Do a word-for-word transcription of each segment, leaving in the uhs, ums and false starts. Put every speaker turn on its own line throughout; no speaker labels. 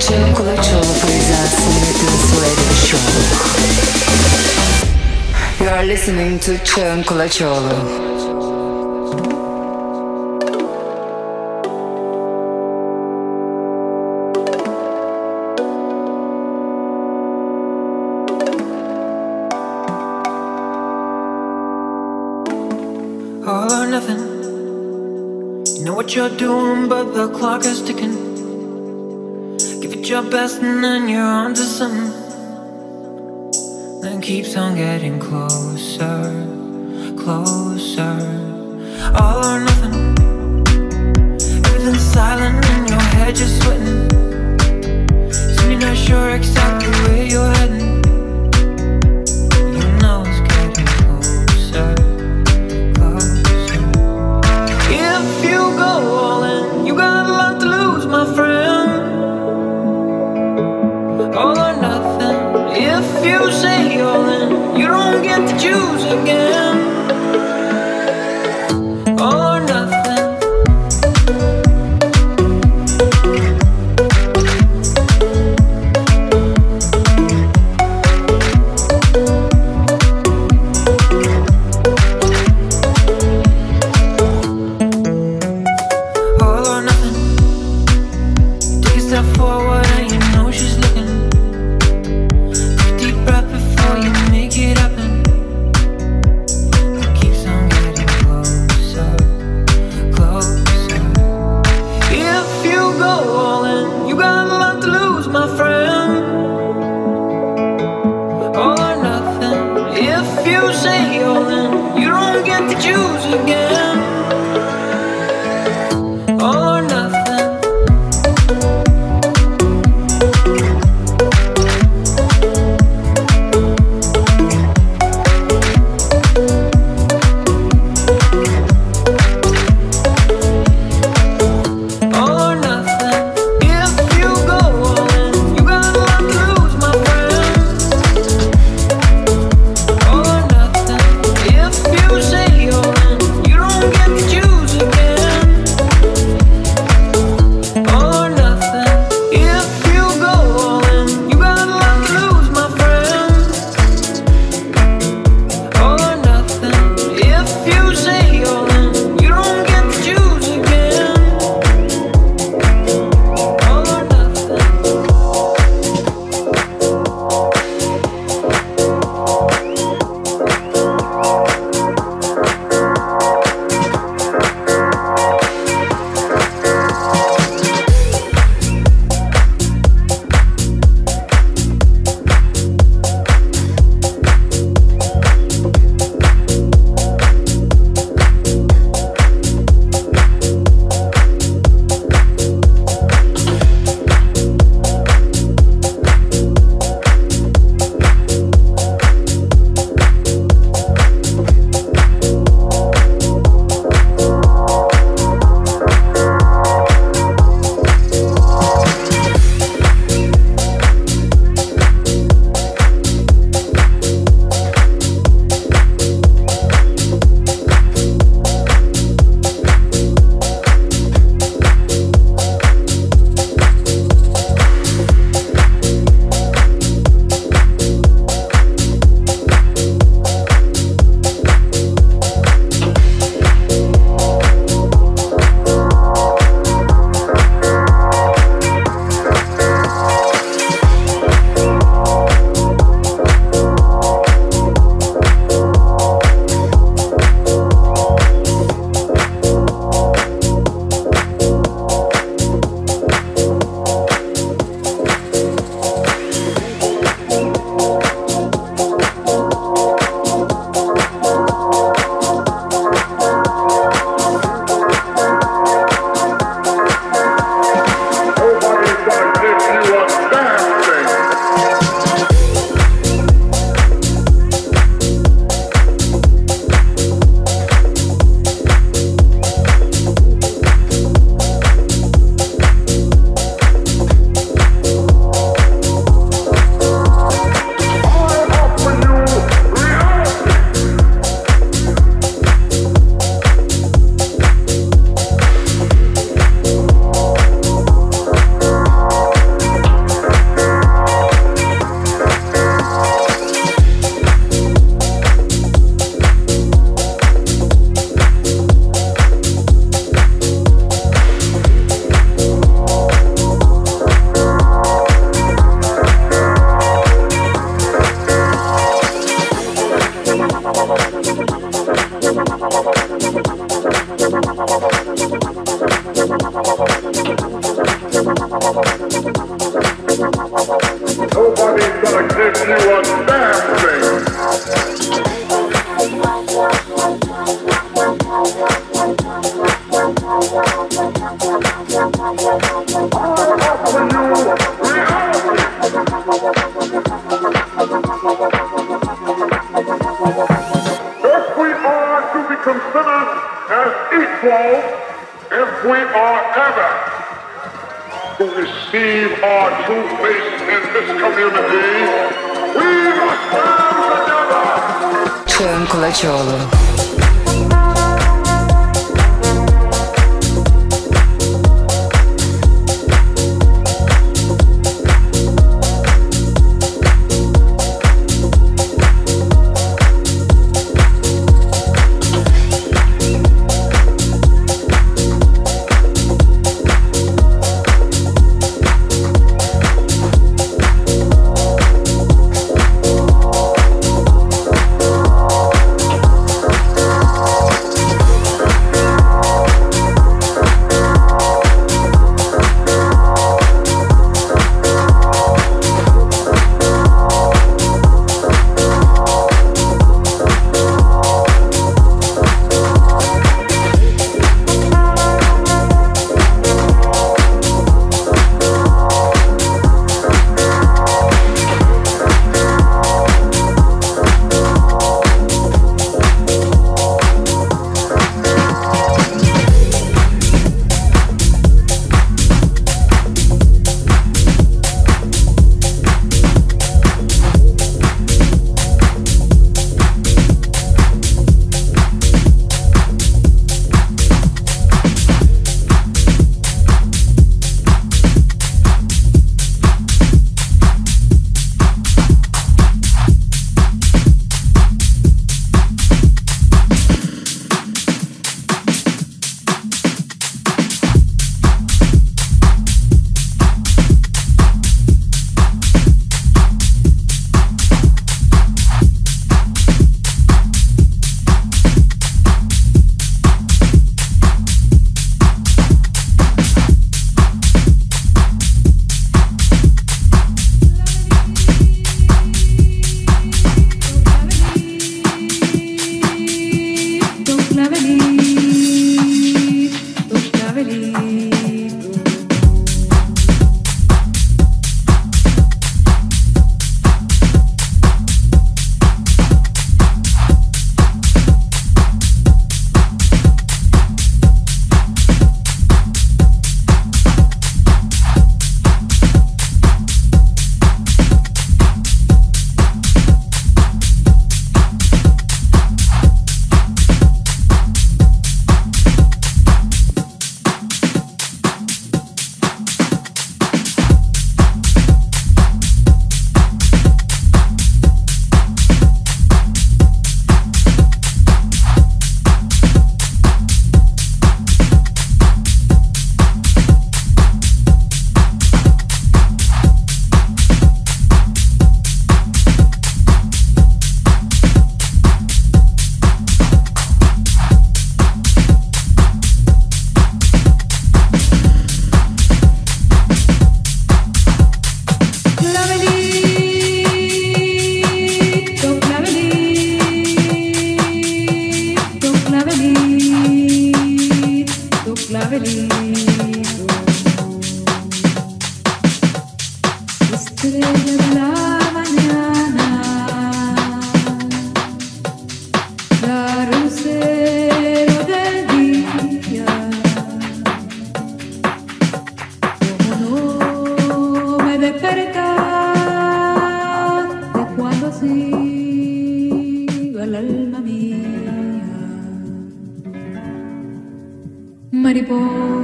Çığım Kulaçoğlu presents Smith Radio Show. You are listening to Çığım Kulaçoğlu.
All or nothing. You know what you're doing, but the clock is ticking. Give it your best and then you're on to something. Then keeps on getting closer, closer. All or nothing. Everything's silent in your head, you're sweating. Soon you're not sure exactly where you're heading. You know it's getting closer. If you go all in, you got a lot to lose, my friend. All or nothing. If you say all in, you don't get to choose again. All or nothing.
Çağın Kulaçoğlu.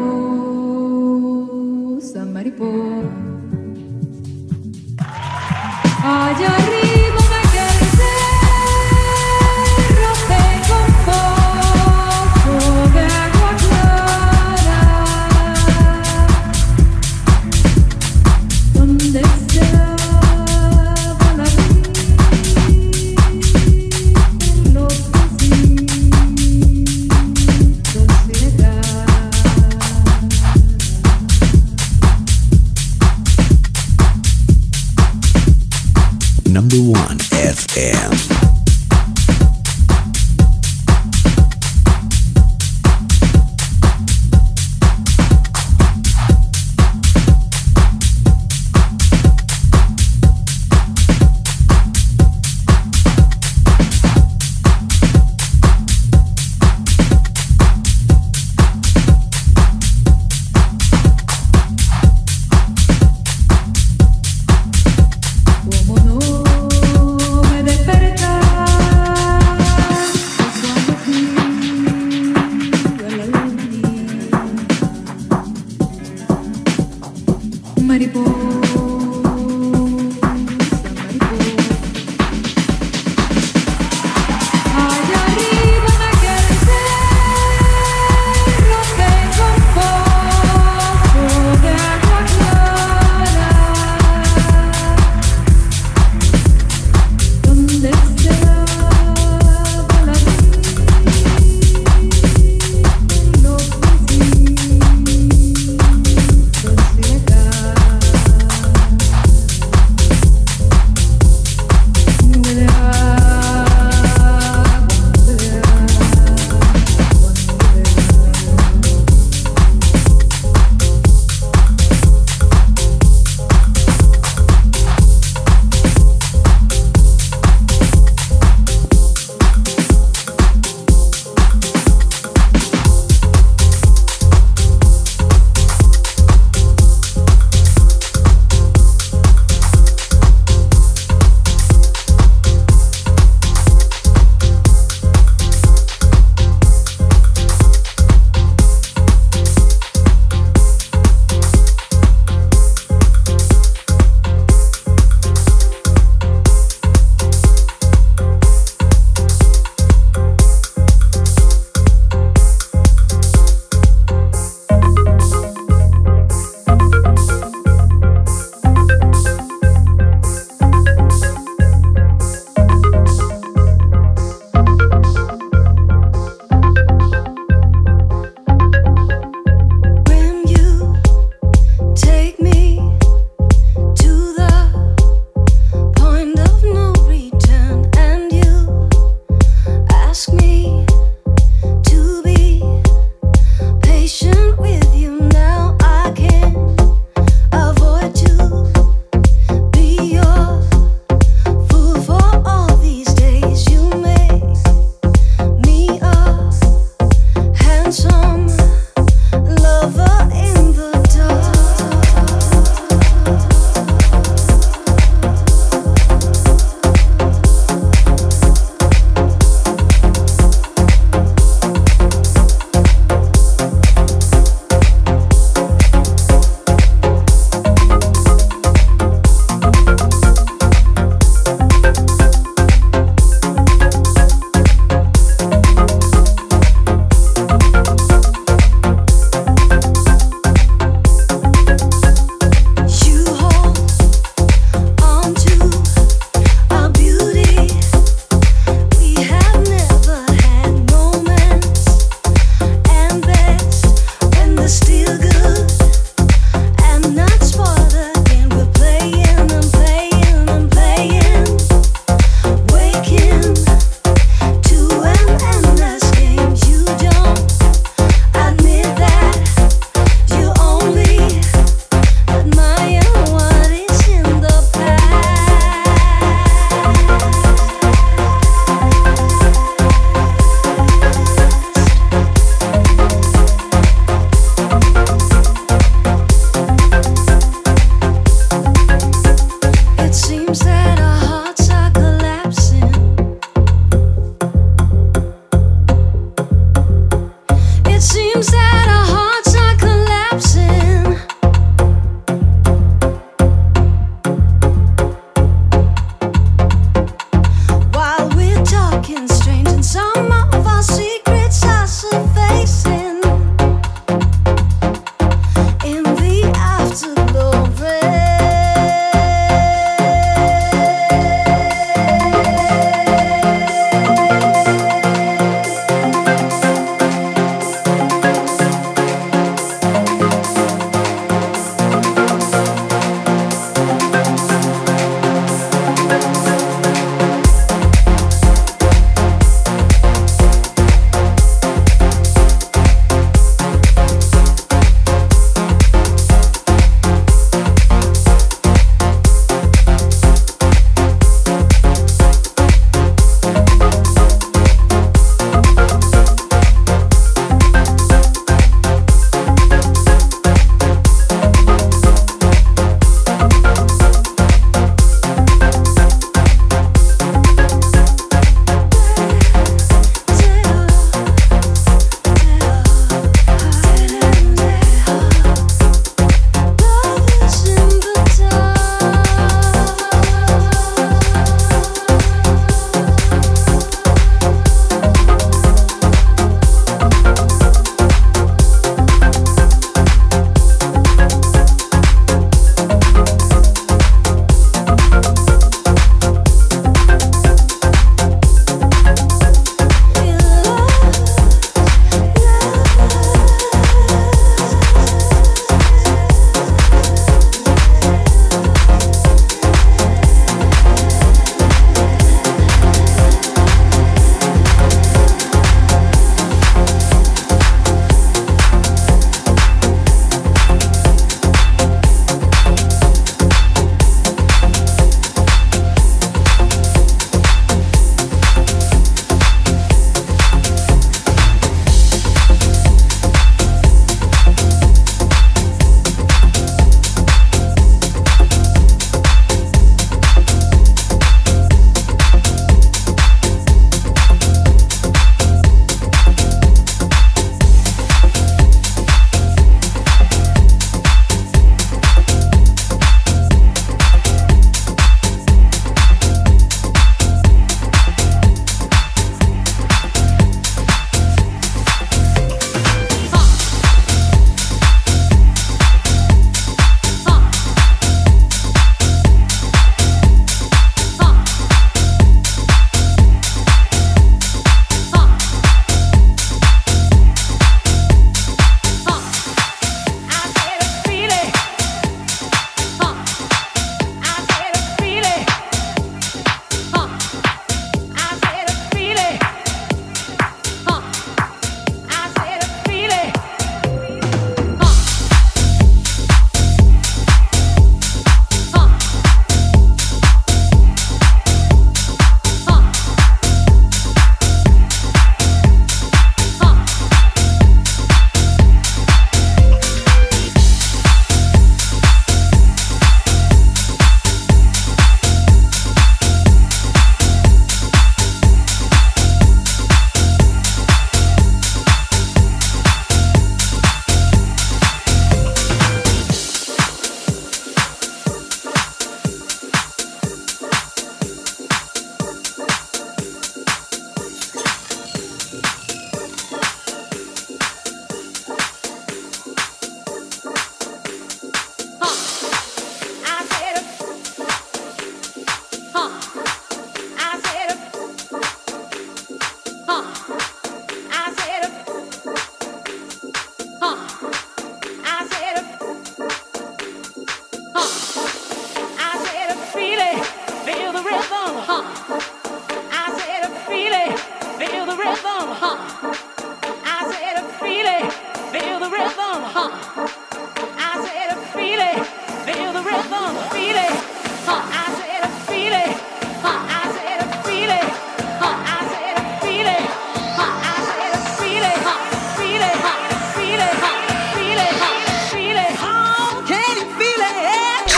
Mariposa, mariposa. number one F M.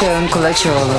Çağın Kulaçoğlu.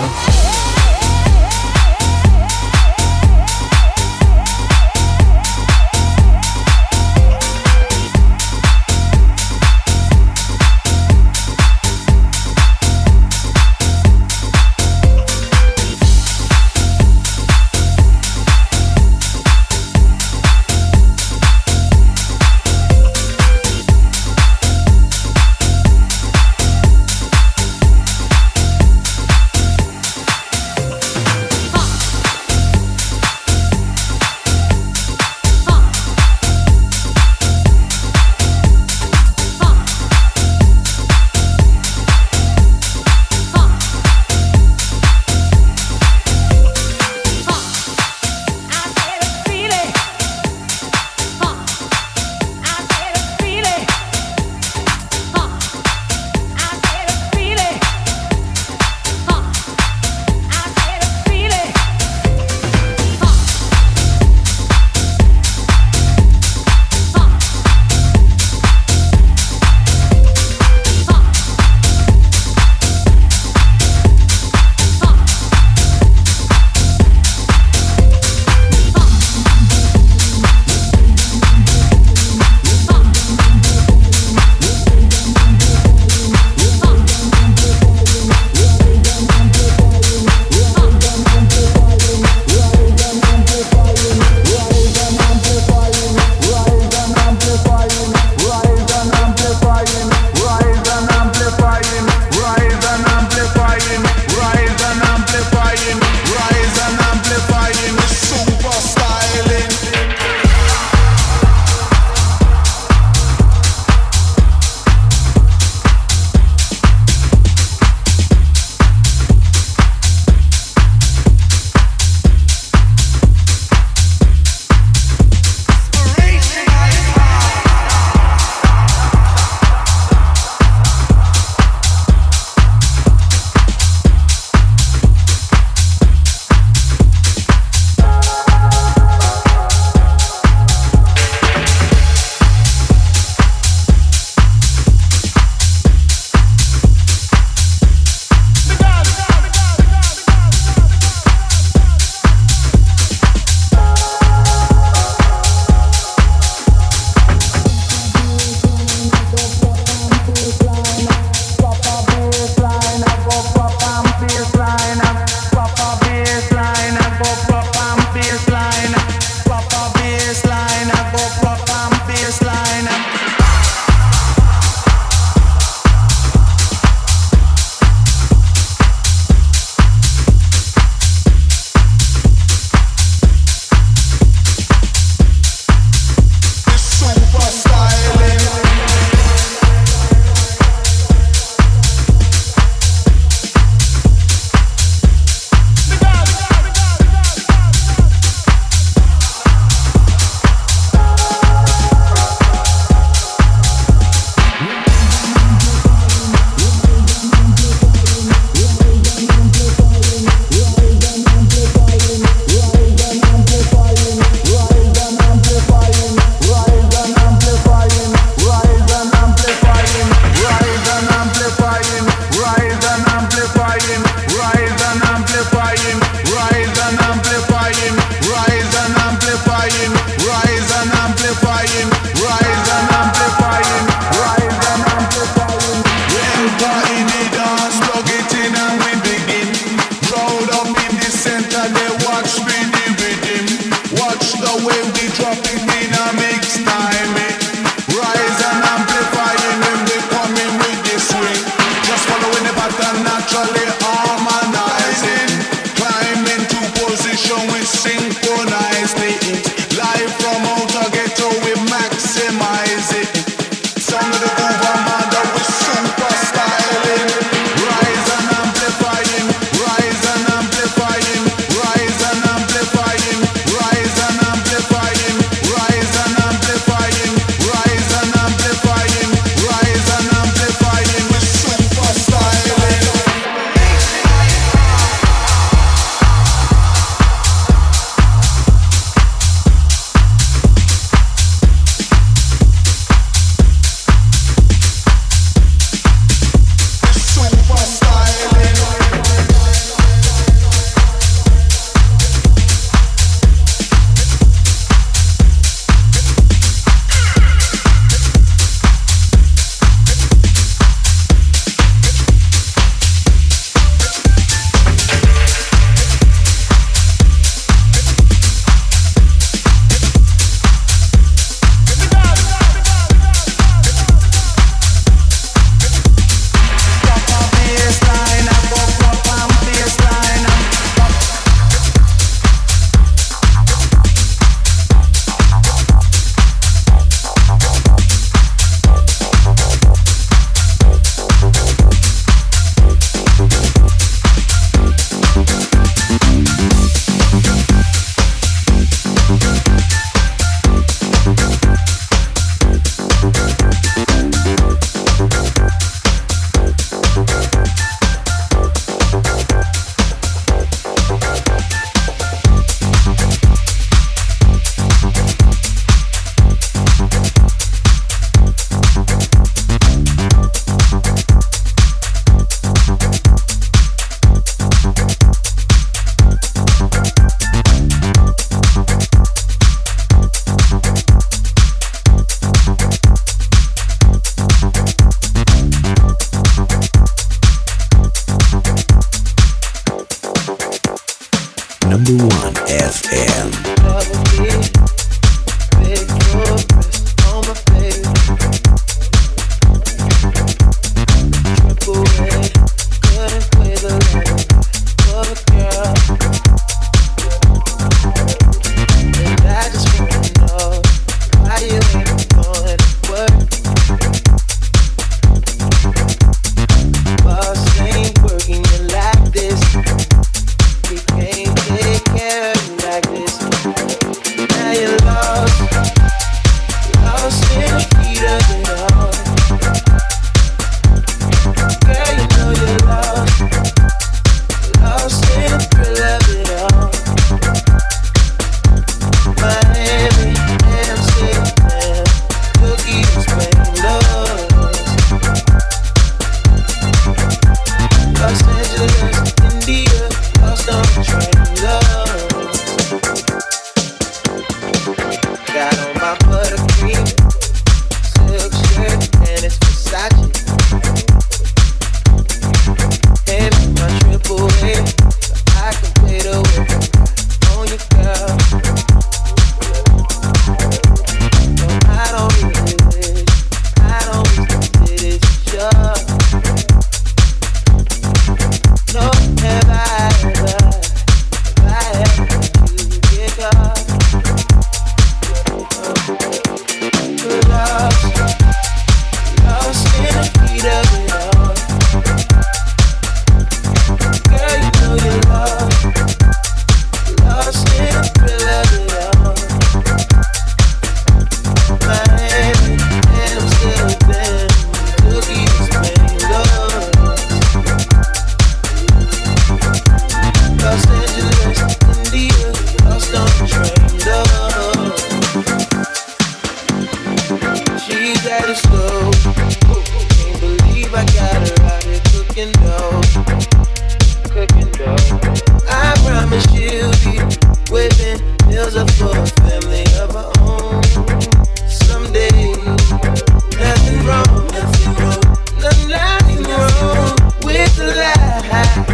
cooking dough, cooking dough. I promise you'll be whipping meals up for a family of our own someday. Nothing wrong, nothing wrong, nothing, nothing wrong with the lie.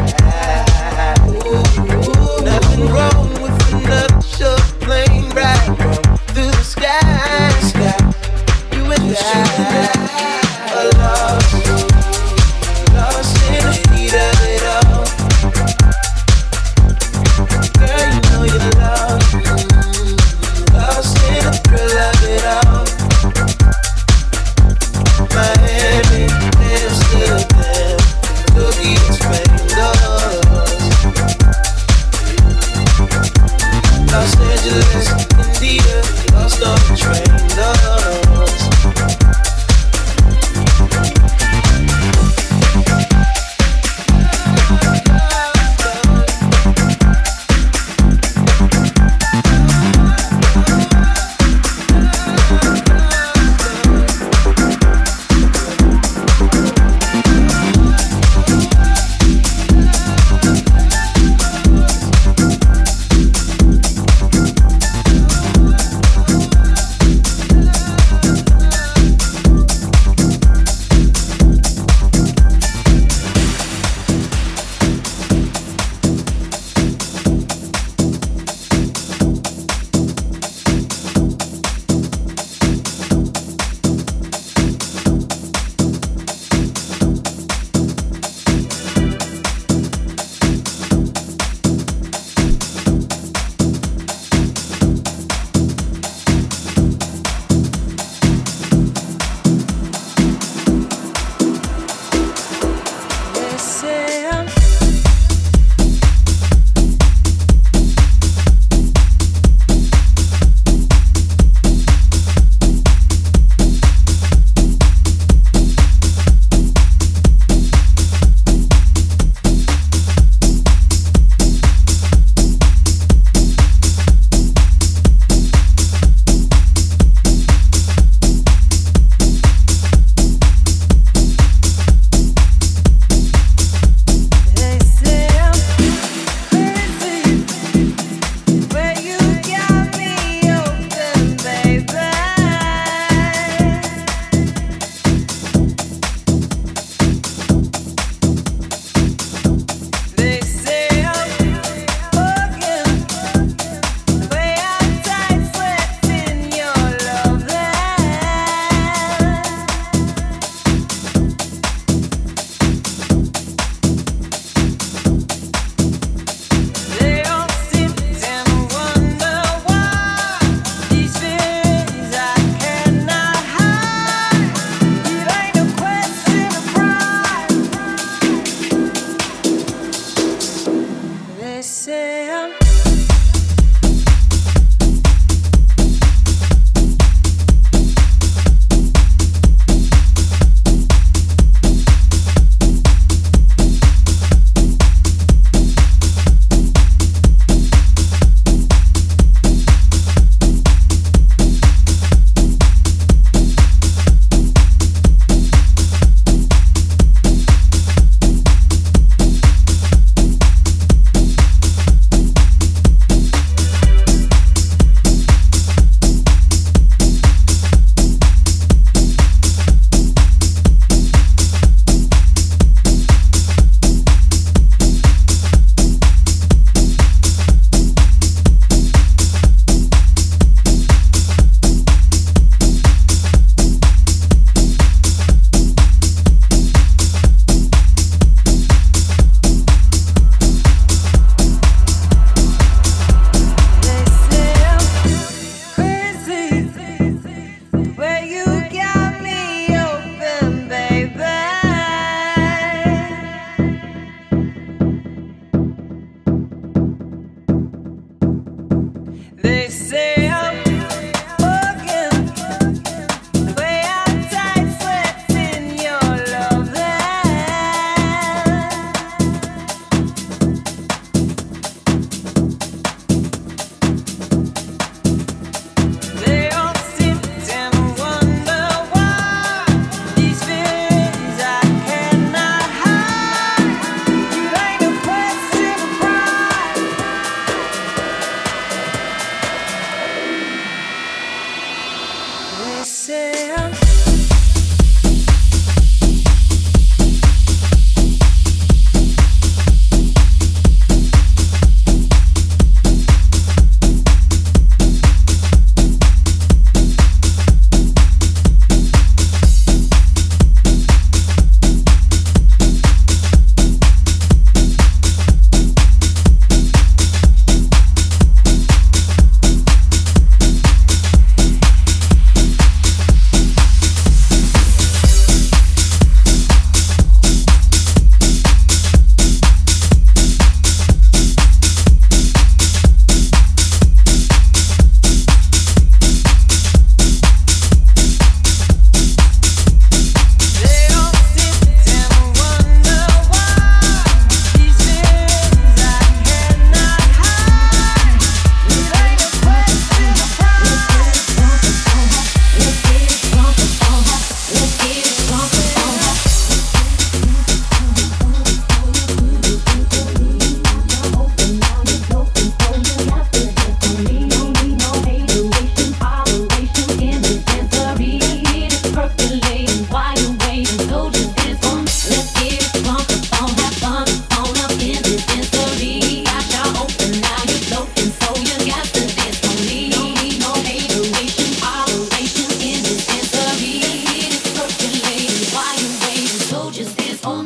Ooh, nothing wrong with another short plane ride through the sky. You and I are lost, lost in a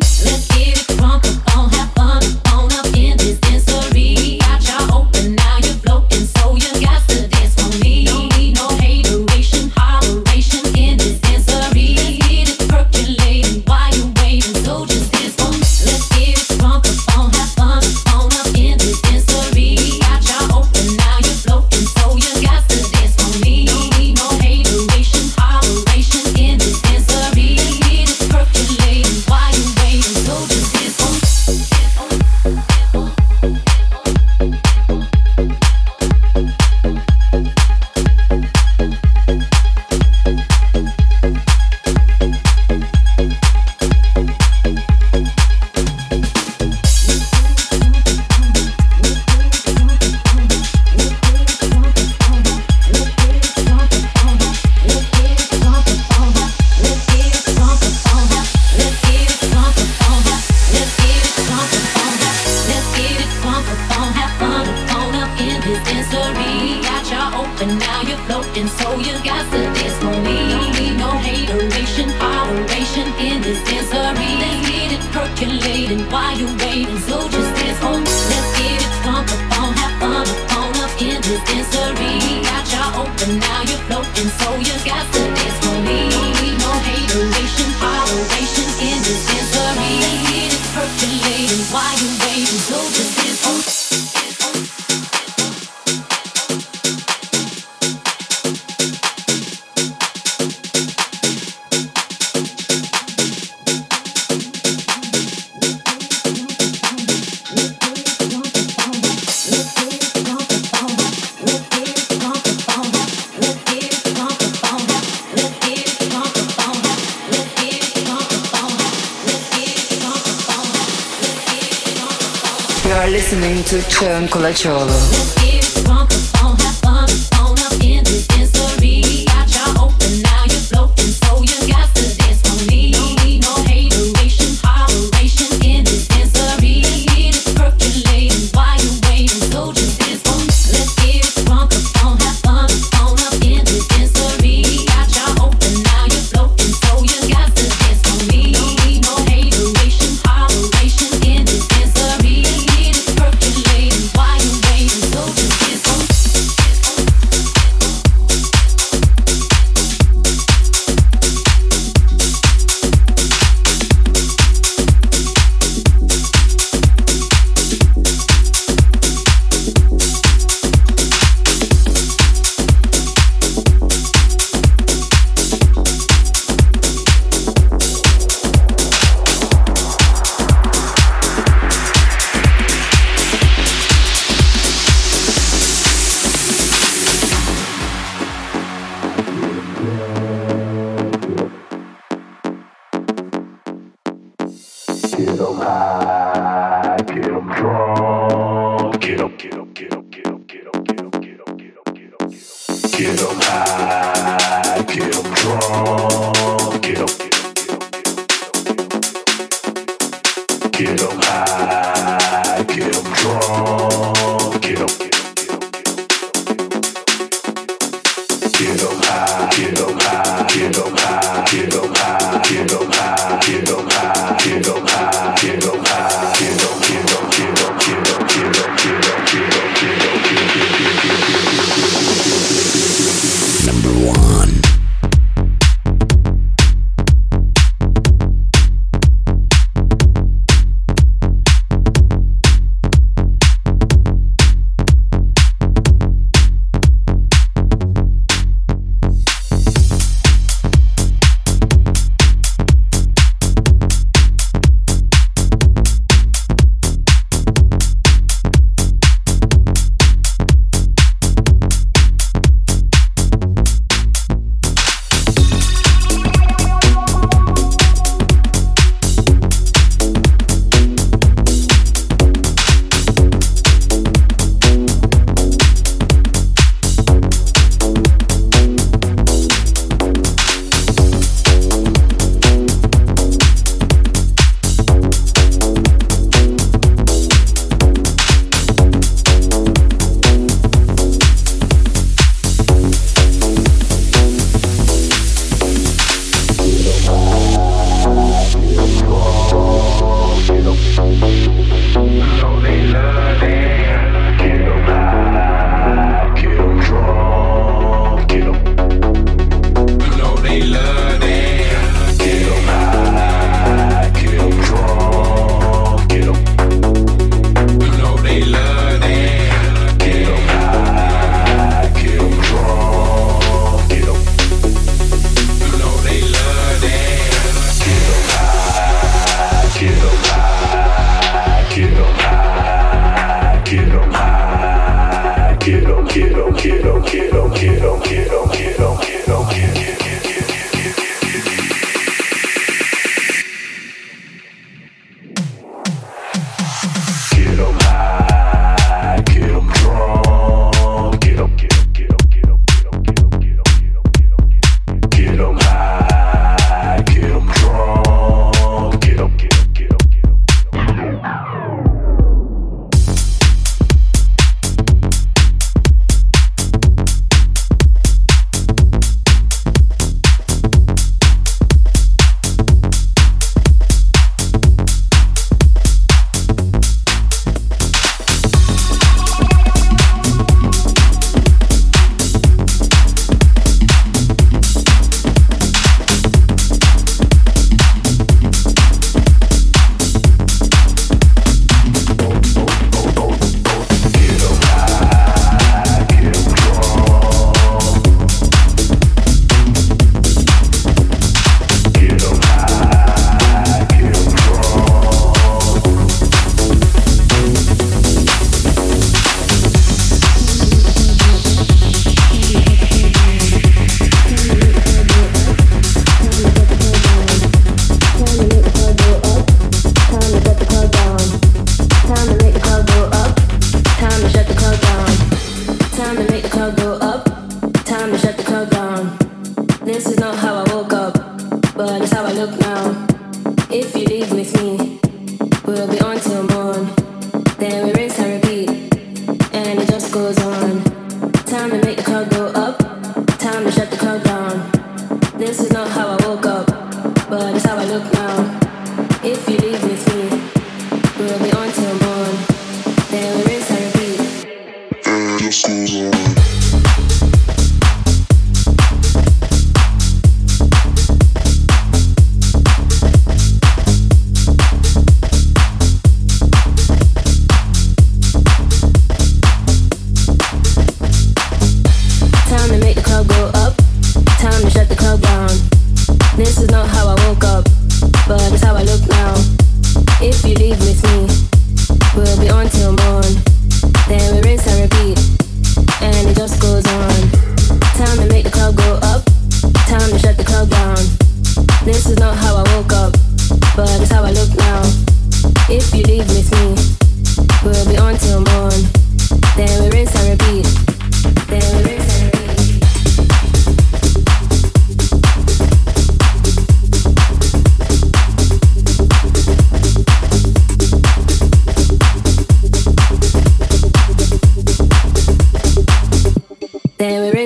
Listening to Çağın Kulaçoğlu.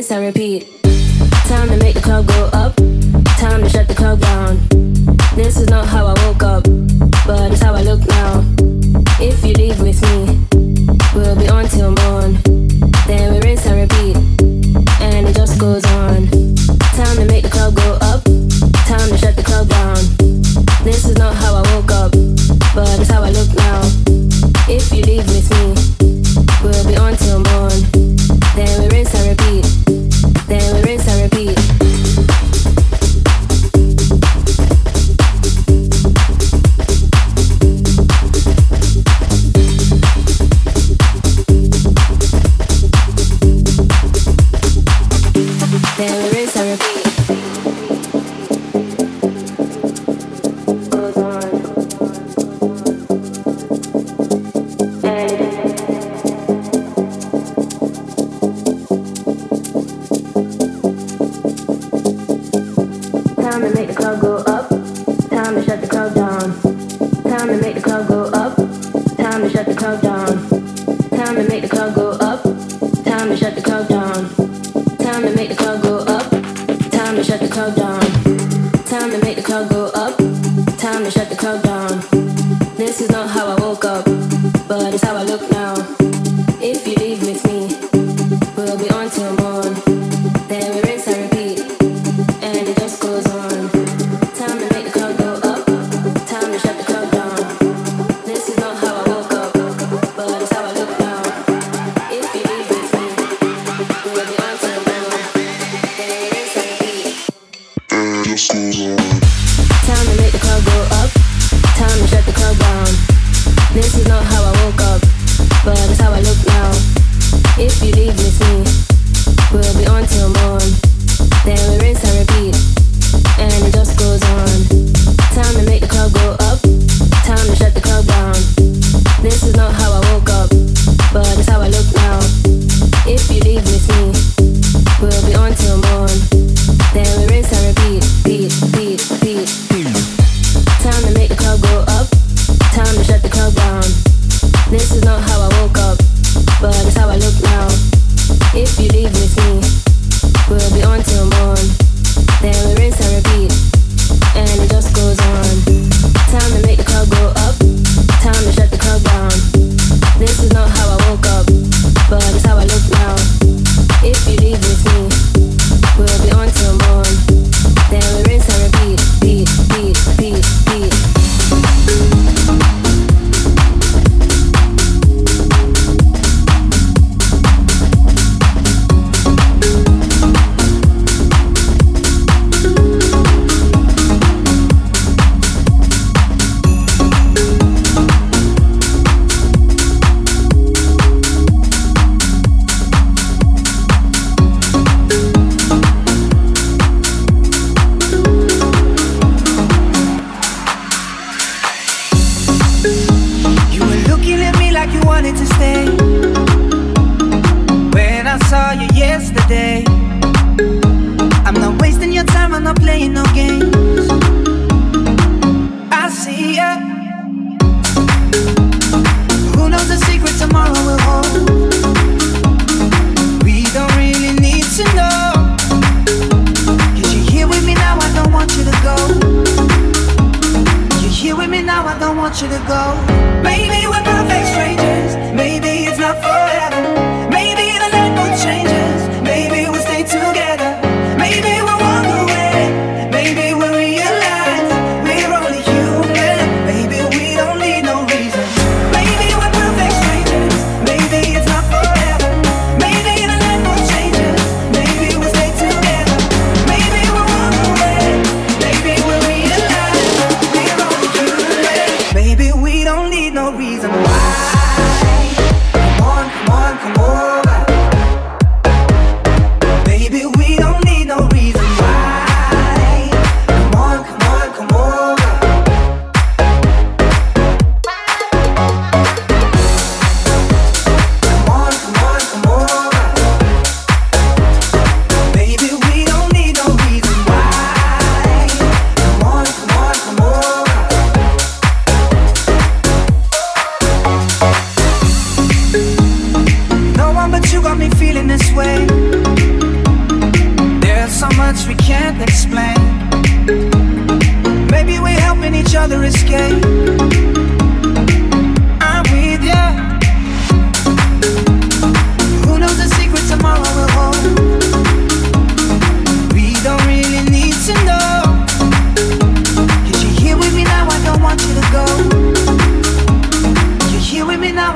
rinse and repeat. Time to make the club go up, time to shut the club down. This is not how I woke up, but it's how I look now. If you leave with me, we'll be on till morn. Then we rinse and repeat, and it just goes on. Time to make the club go up, time to shut the club down. This is not how I woke up, but it's how I look now. If you leave with me, we'll be on till morn. Then we rinse and repeat, then we rinse and repeat. Then we rinse and repeat. Goes on. And time to make the club go up, time to shut the club down. Time to make the club go up, time to shut the club down. Time to make the club go up, time to shut the club down. Time to make the club go up, time to shut the club down. Time to make the club go up, time to shut the club down. This is not how I woke up, but it's how I look now. If you leave with me, we'll be on till morn. Then we rinse and repeat, and it just goes on. Time to make the club go up, time to shut the club down. This is not how I woke up, but it's how I look now. If you leave with me, we'll be on till morn. Then we rinse and repeat. Time to make the club go up, time to shut the club down. This is not how I woke up, but it's how I look now. If you leave with me, we'll be on till morn. Then we rinse and repeat, and it just goes on. Time to make the club go up, time to shut the club down. This is not how I woke up, but it's how I look now. If you leave with me, we'll be on till morn. Then we rinse and repeat, beat, beat, beat, beat. Time to make the club go up, time to shut the club down. This is not how I woke up, but it's how I look now. If you leave with me, we'll be on till morn. Then we rinse and repeat, and it just goes on. Time to make the club go up, time to shut the club down. This is not how I woke up, but it's how I look now. If you leave with me, we'll be on till morn. Then we rinse and repeat, beat, beat, beat, beat.
To stay when I saw you yesterday. I'm not wasting your time, I'm not playing no games. I see ya. Who knows the secret tomorrow will hold? We don't really need to know. Cause you're here with me now, I don't want you to go. You're here with me now, I don't want you to go. Maybe we're perfect strangers. Maybe it's not forever. Maybe the night will change us. Maybe we'll stay together. Maybe we'll walk away. Maybe we'll realize we're only human. Maybe we don't need no reason. Maybe we're perfect strangers. Maybe it's not forever. Maybe the night will change us. Maybe we'll stay together. Maybe we'll walk away. Maybe we'll realize we're only human. Maybe we don't need no reason why.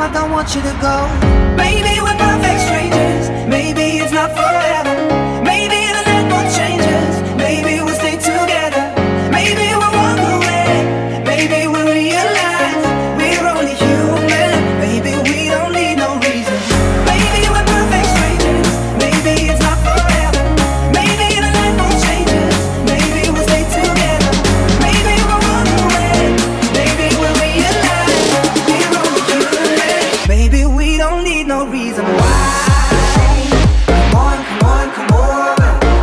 I don't want you to go. Maybe we're perfect strangers. Maybe it's not forever. Maybe the night won't change us. Maybe we'll stay together. Maybe we'll walk away. Maybe we'll realize we're only human. Maybe we don't need no reason. Maybe we're perfect strangers. Maybe it's not forever. Maybe the night won't change us. Maybe we'll stay together. Maybe we'll walk away. Maybe we'll realize we're only human. Maybe we don't need no reason why. Come on, come on, come on.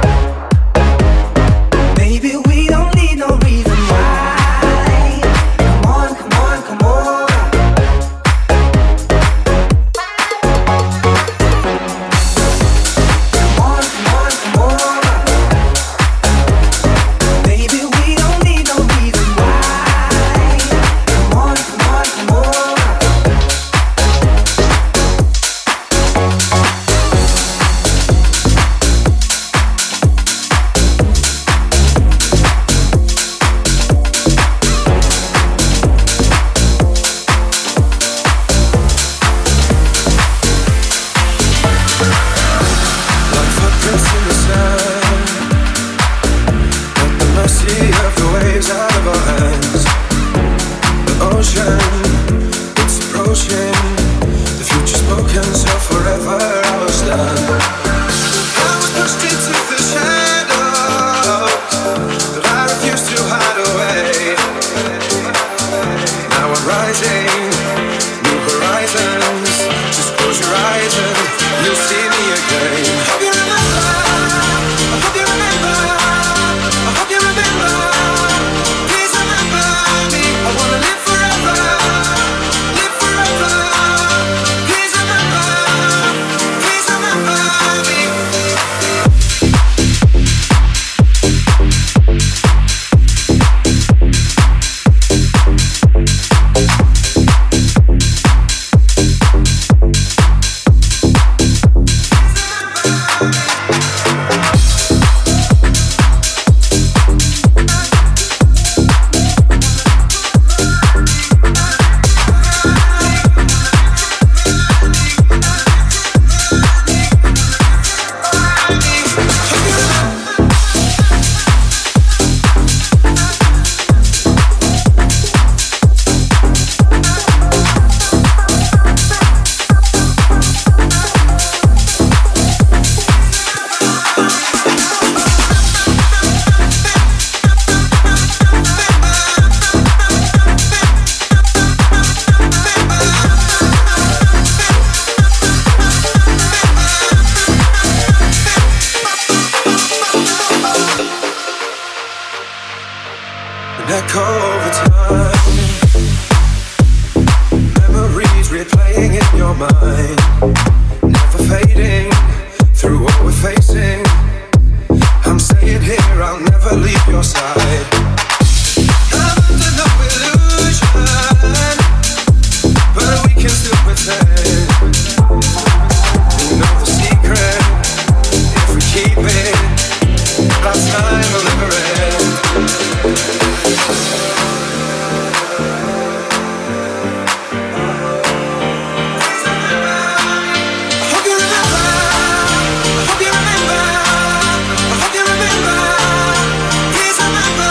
Maybe we don't need no reason why. Come on, come on, come on. Come on, come on, come on. Maybe we don't need no reason why. Come on, come on, come on.
Like footprints in the sand, at the mercy of the waves out of our hands. The ocean, it's approaching. The future spoken, so forever I will stand. I was pushed into the shadows, but I refuse to hide away. Now I'm rising, new horizons. Just close your eyes and you'll see me again. Hope you remember, I hope you remember, I hope you remember. Please remember me, I wanna live forever, live forever. Please remember, please remember me. An echo over time, memories replaying in your mind, never fading through what we're facing. I'm staying here, I'll never leave your side. I'm under no illusion, but we can still pretend. You know the secret, if we keep it, our time will never end. Please remember.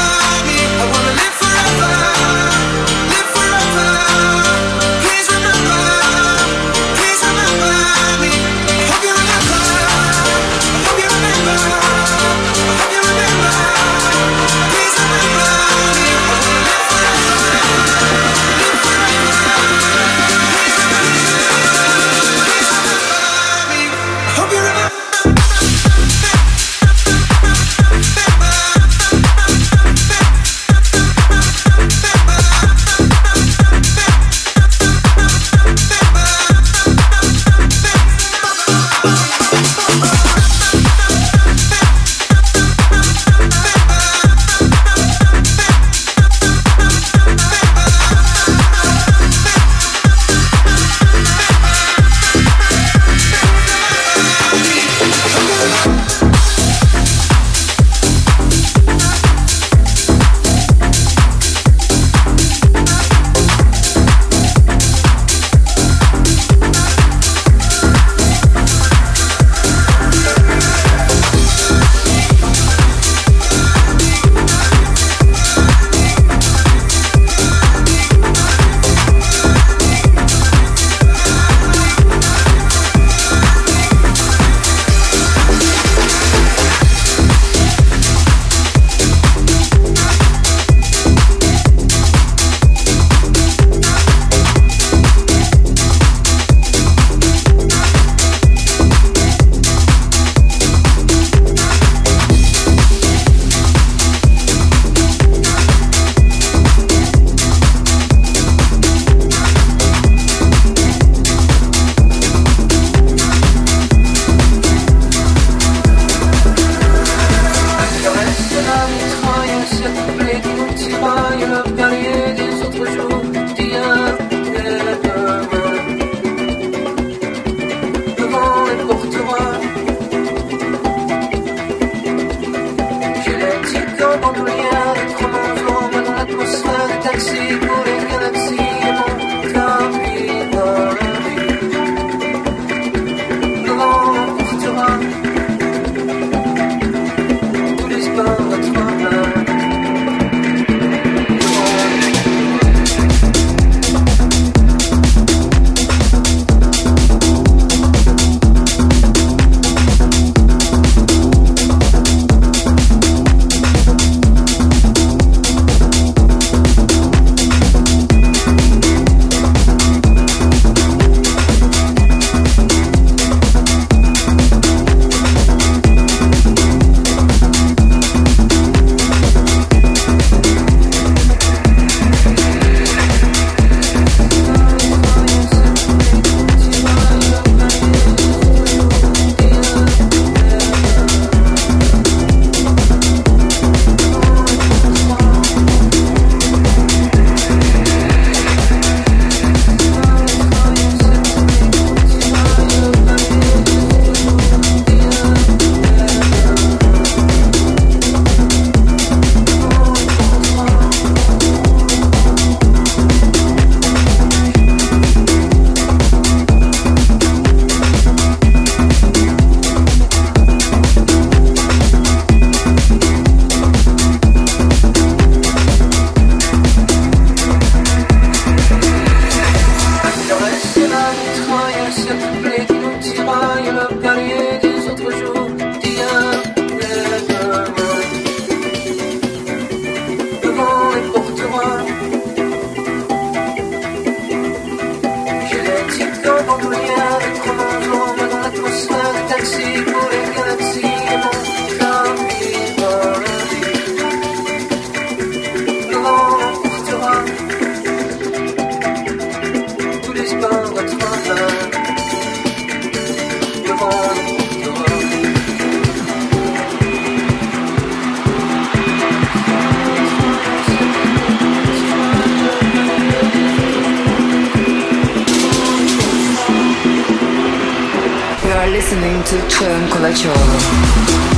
Listening to Ciancolaciolo.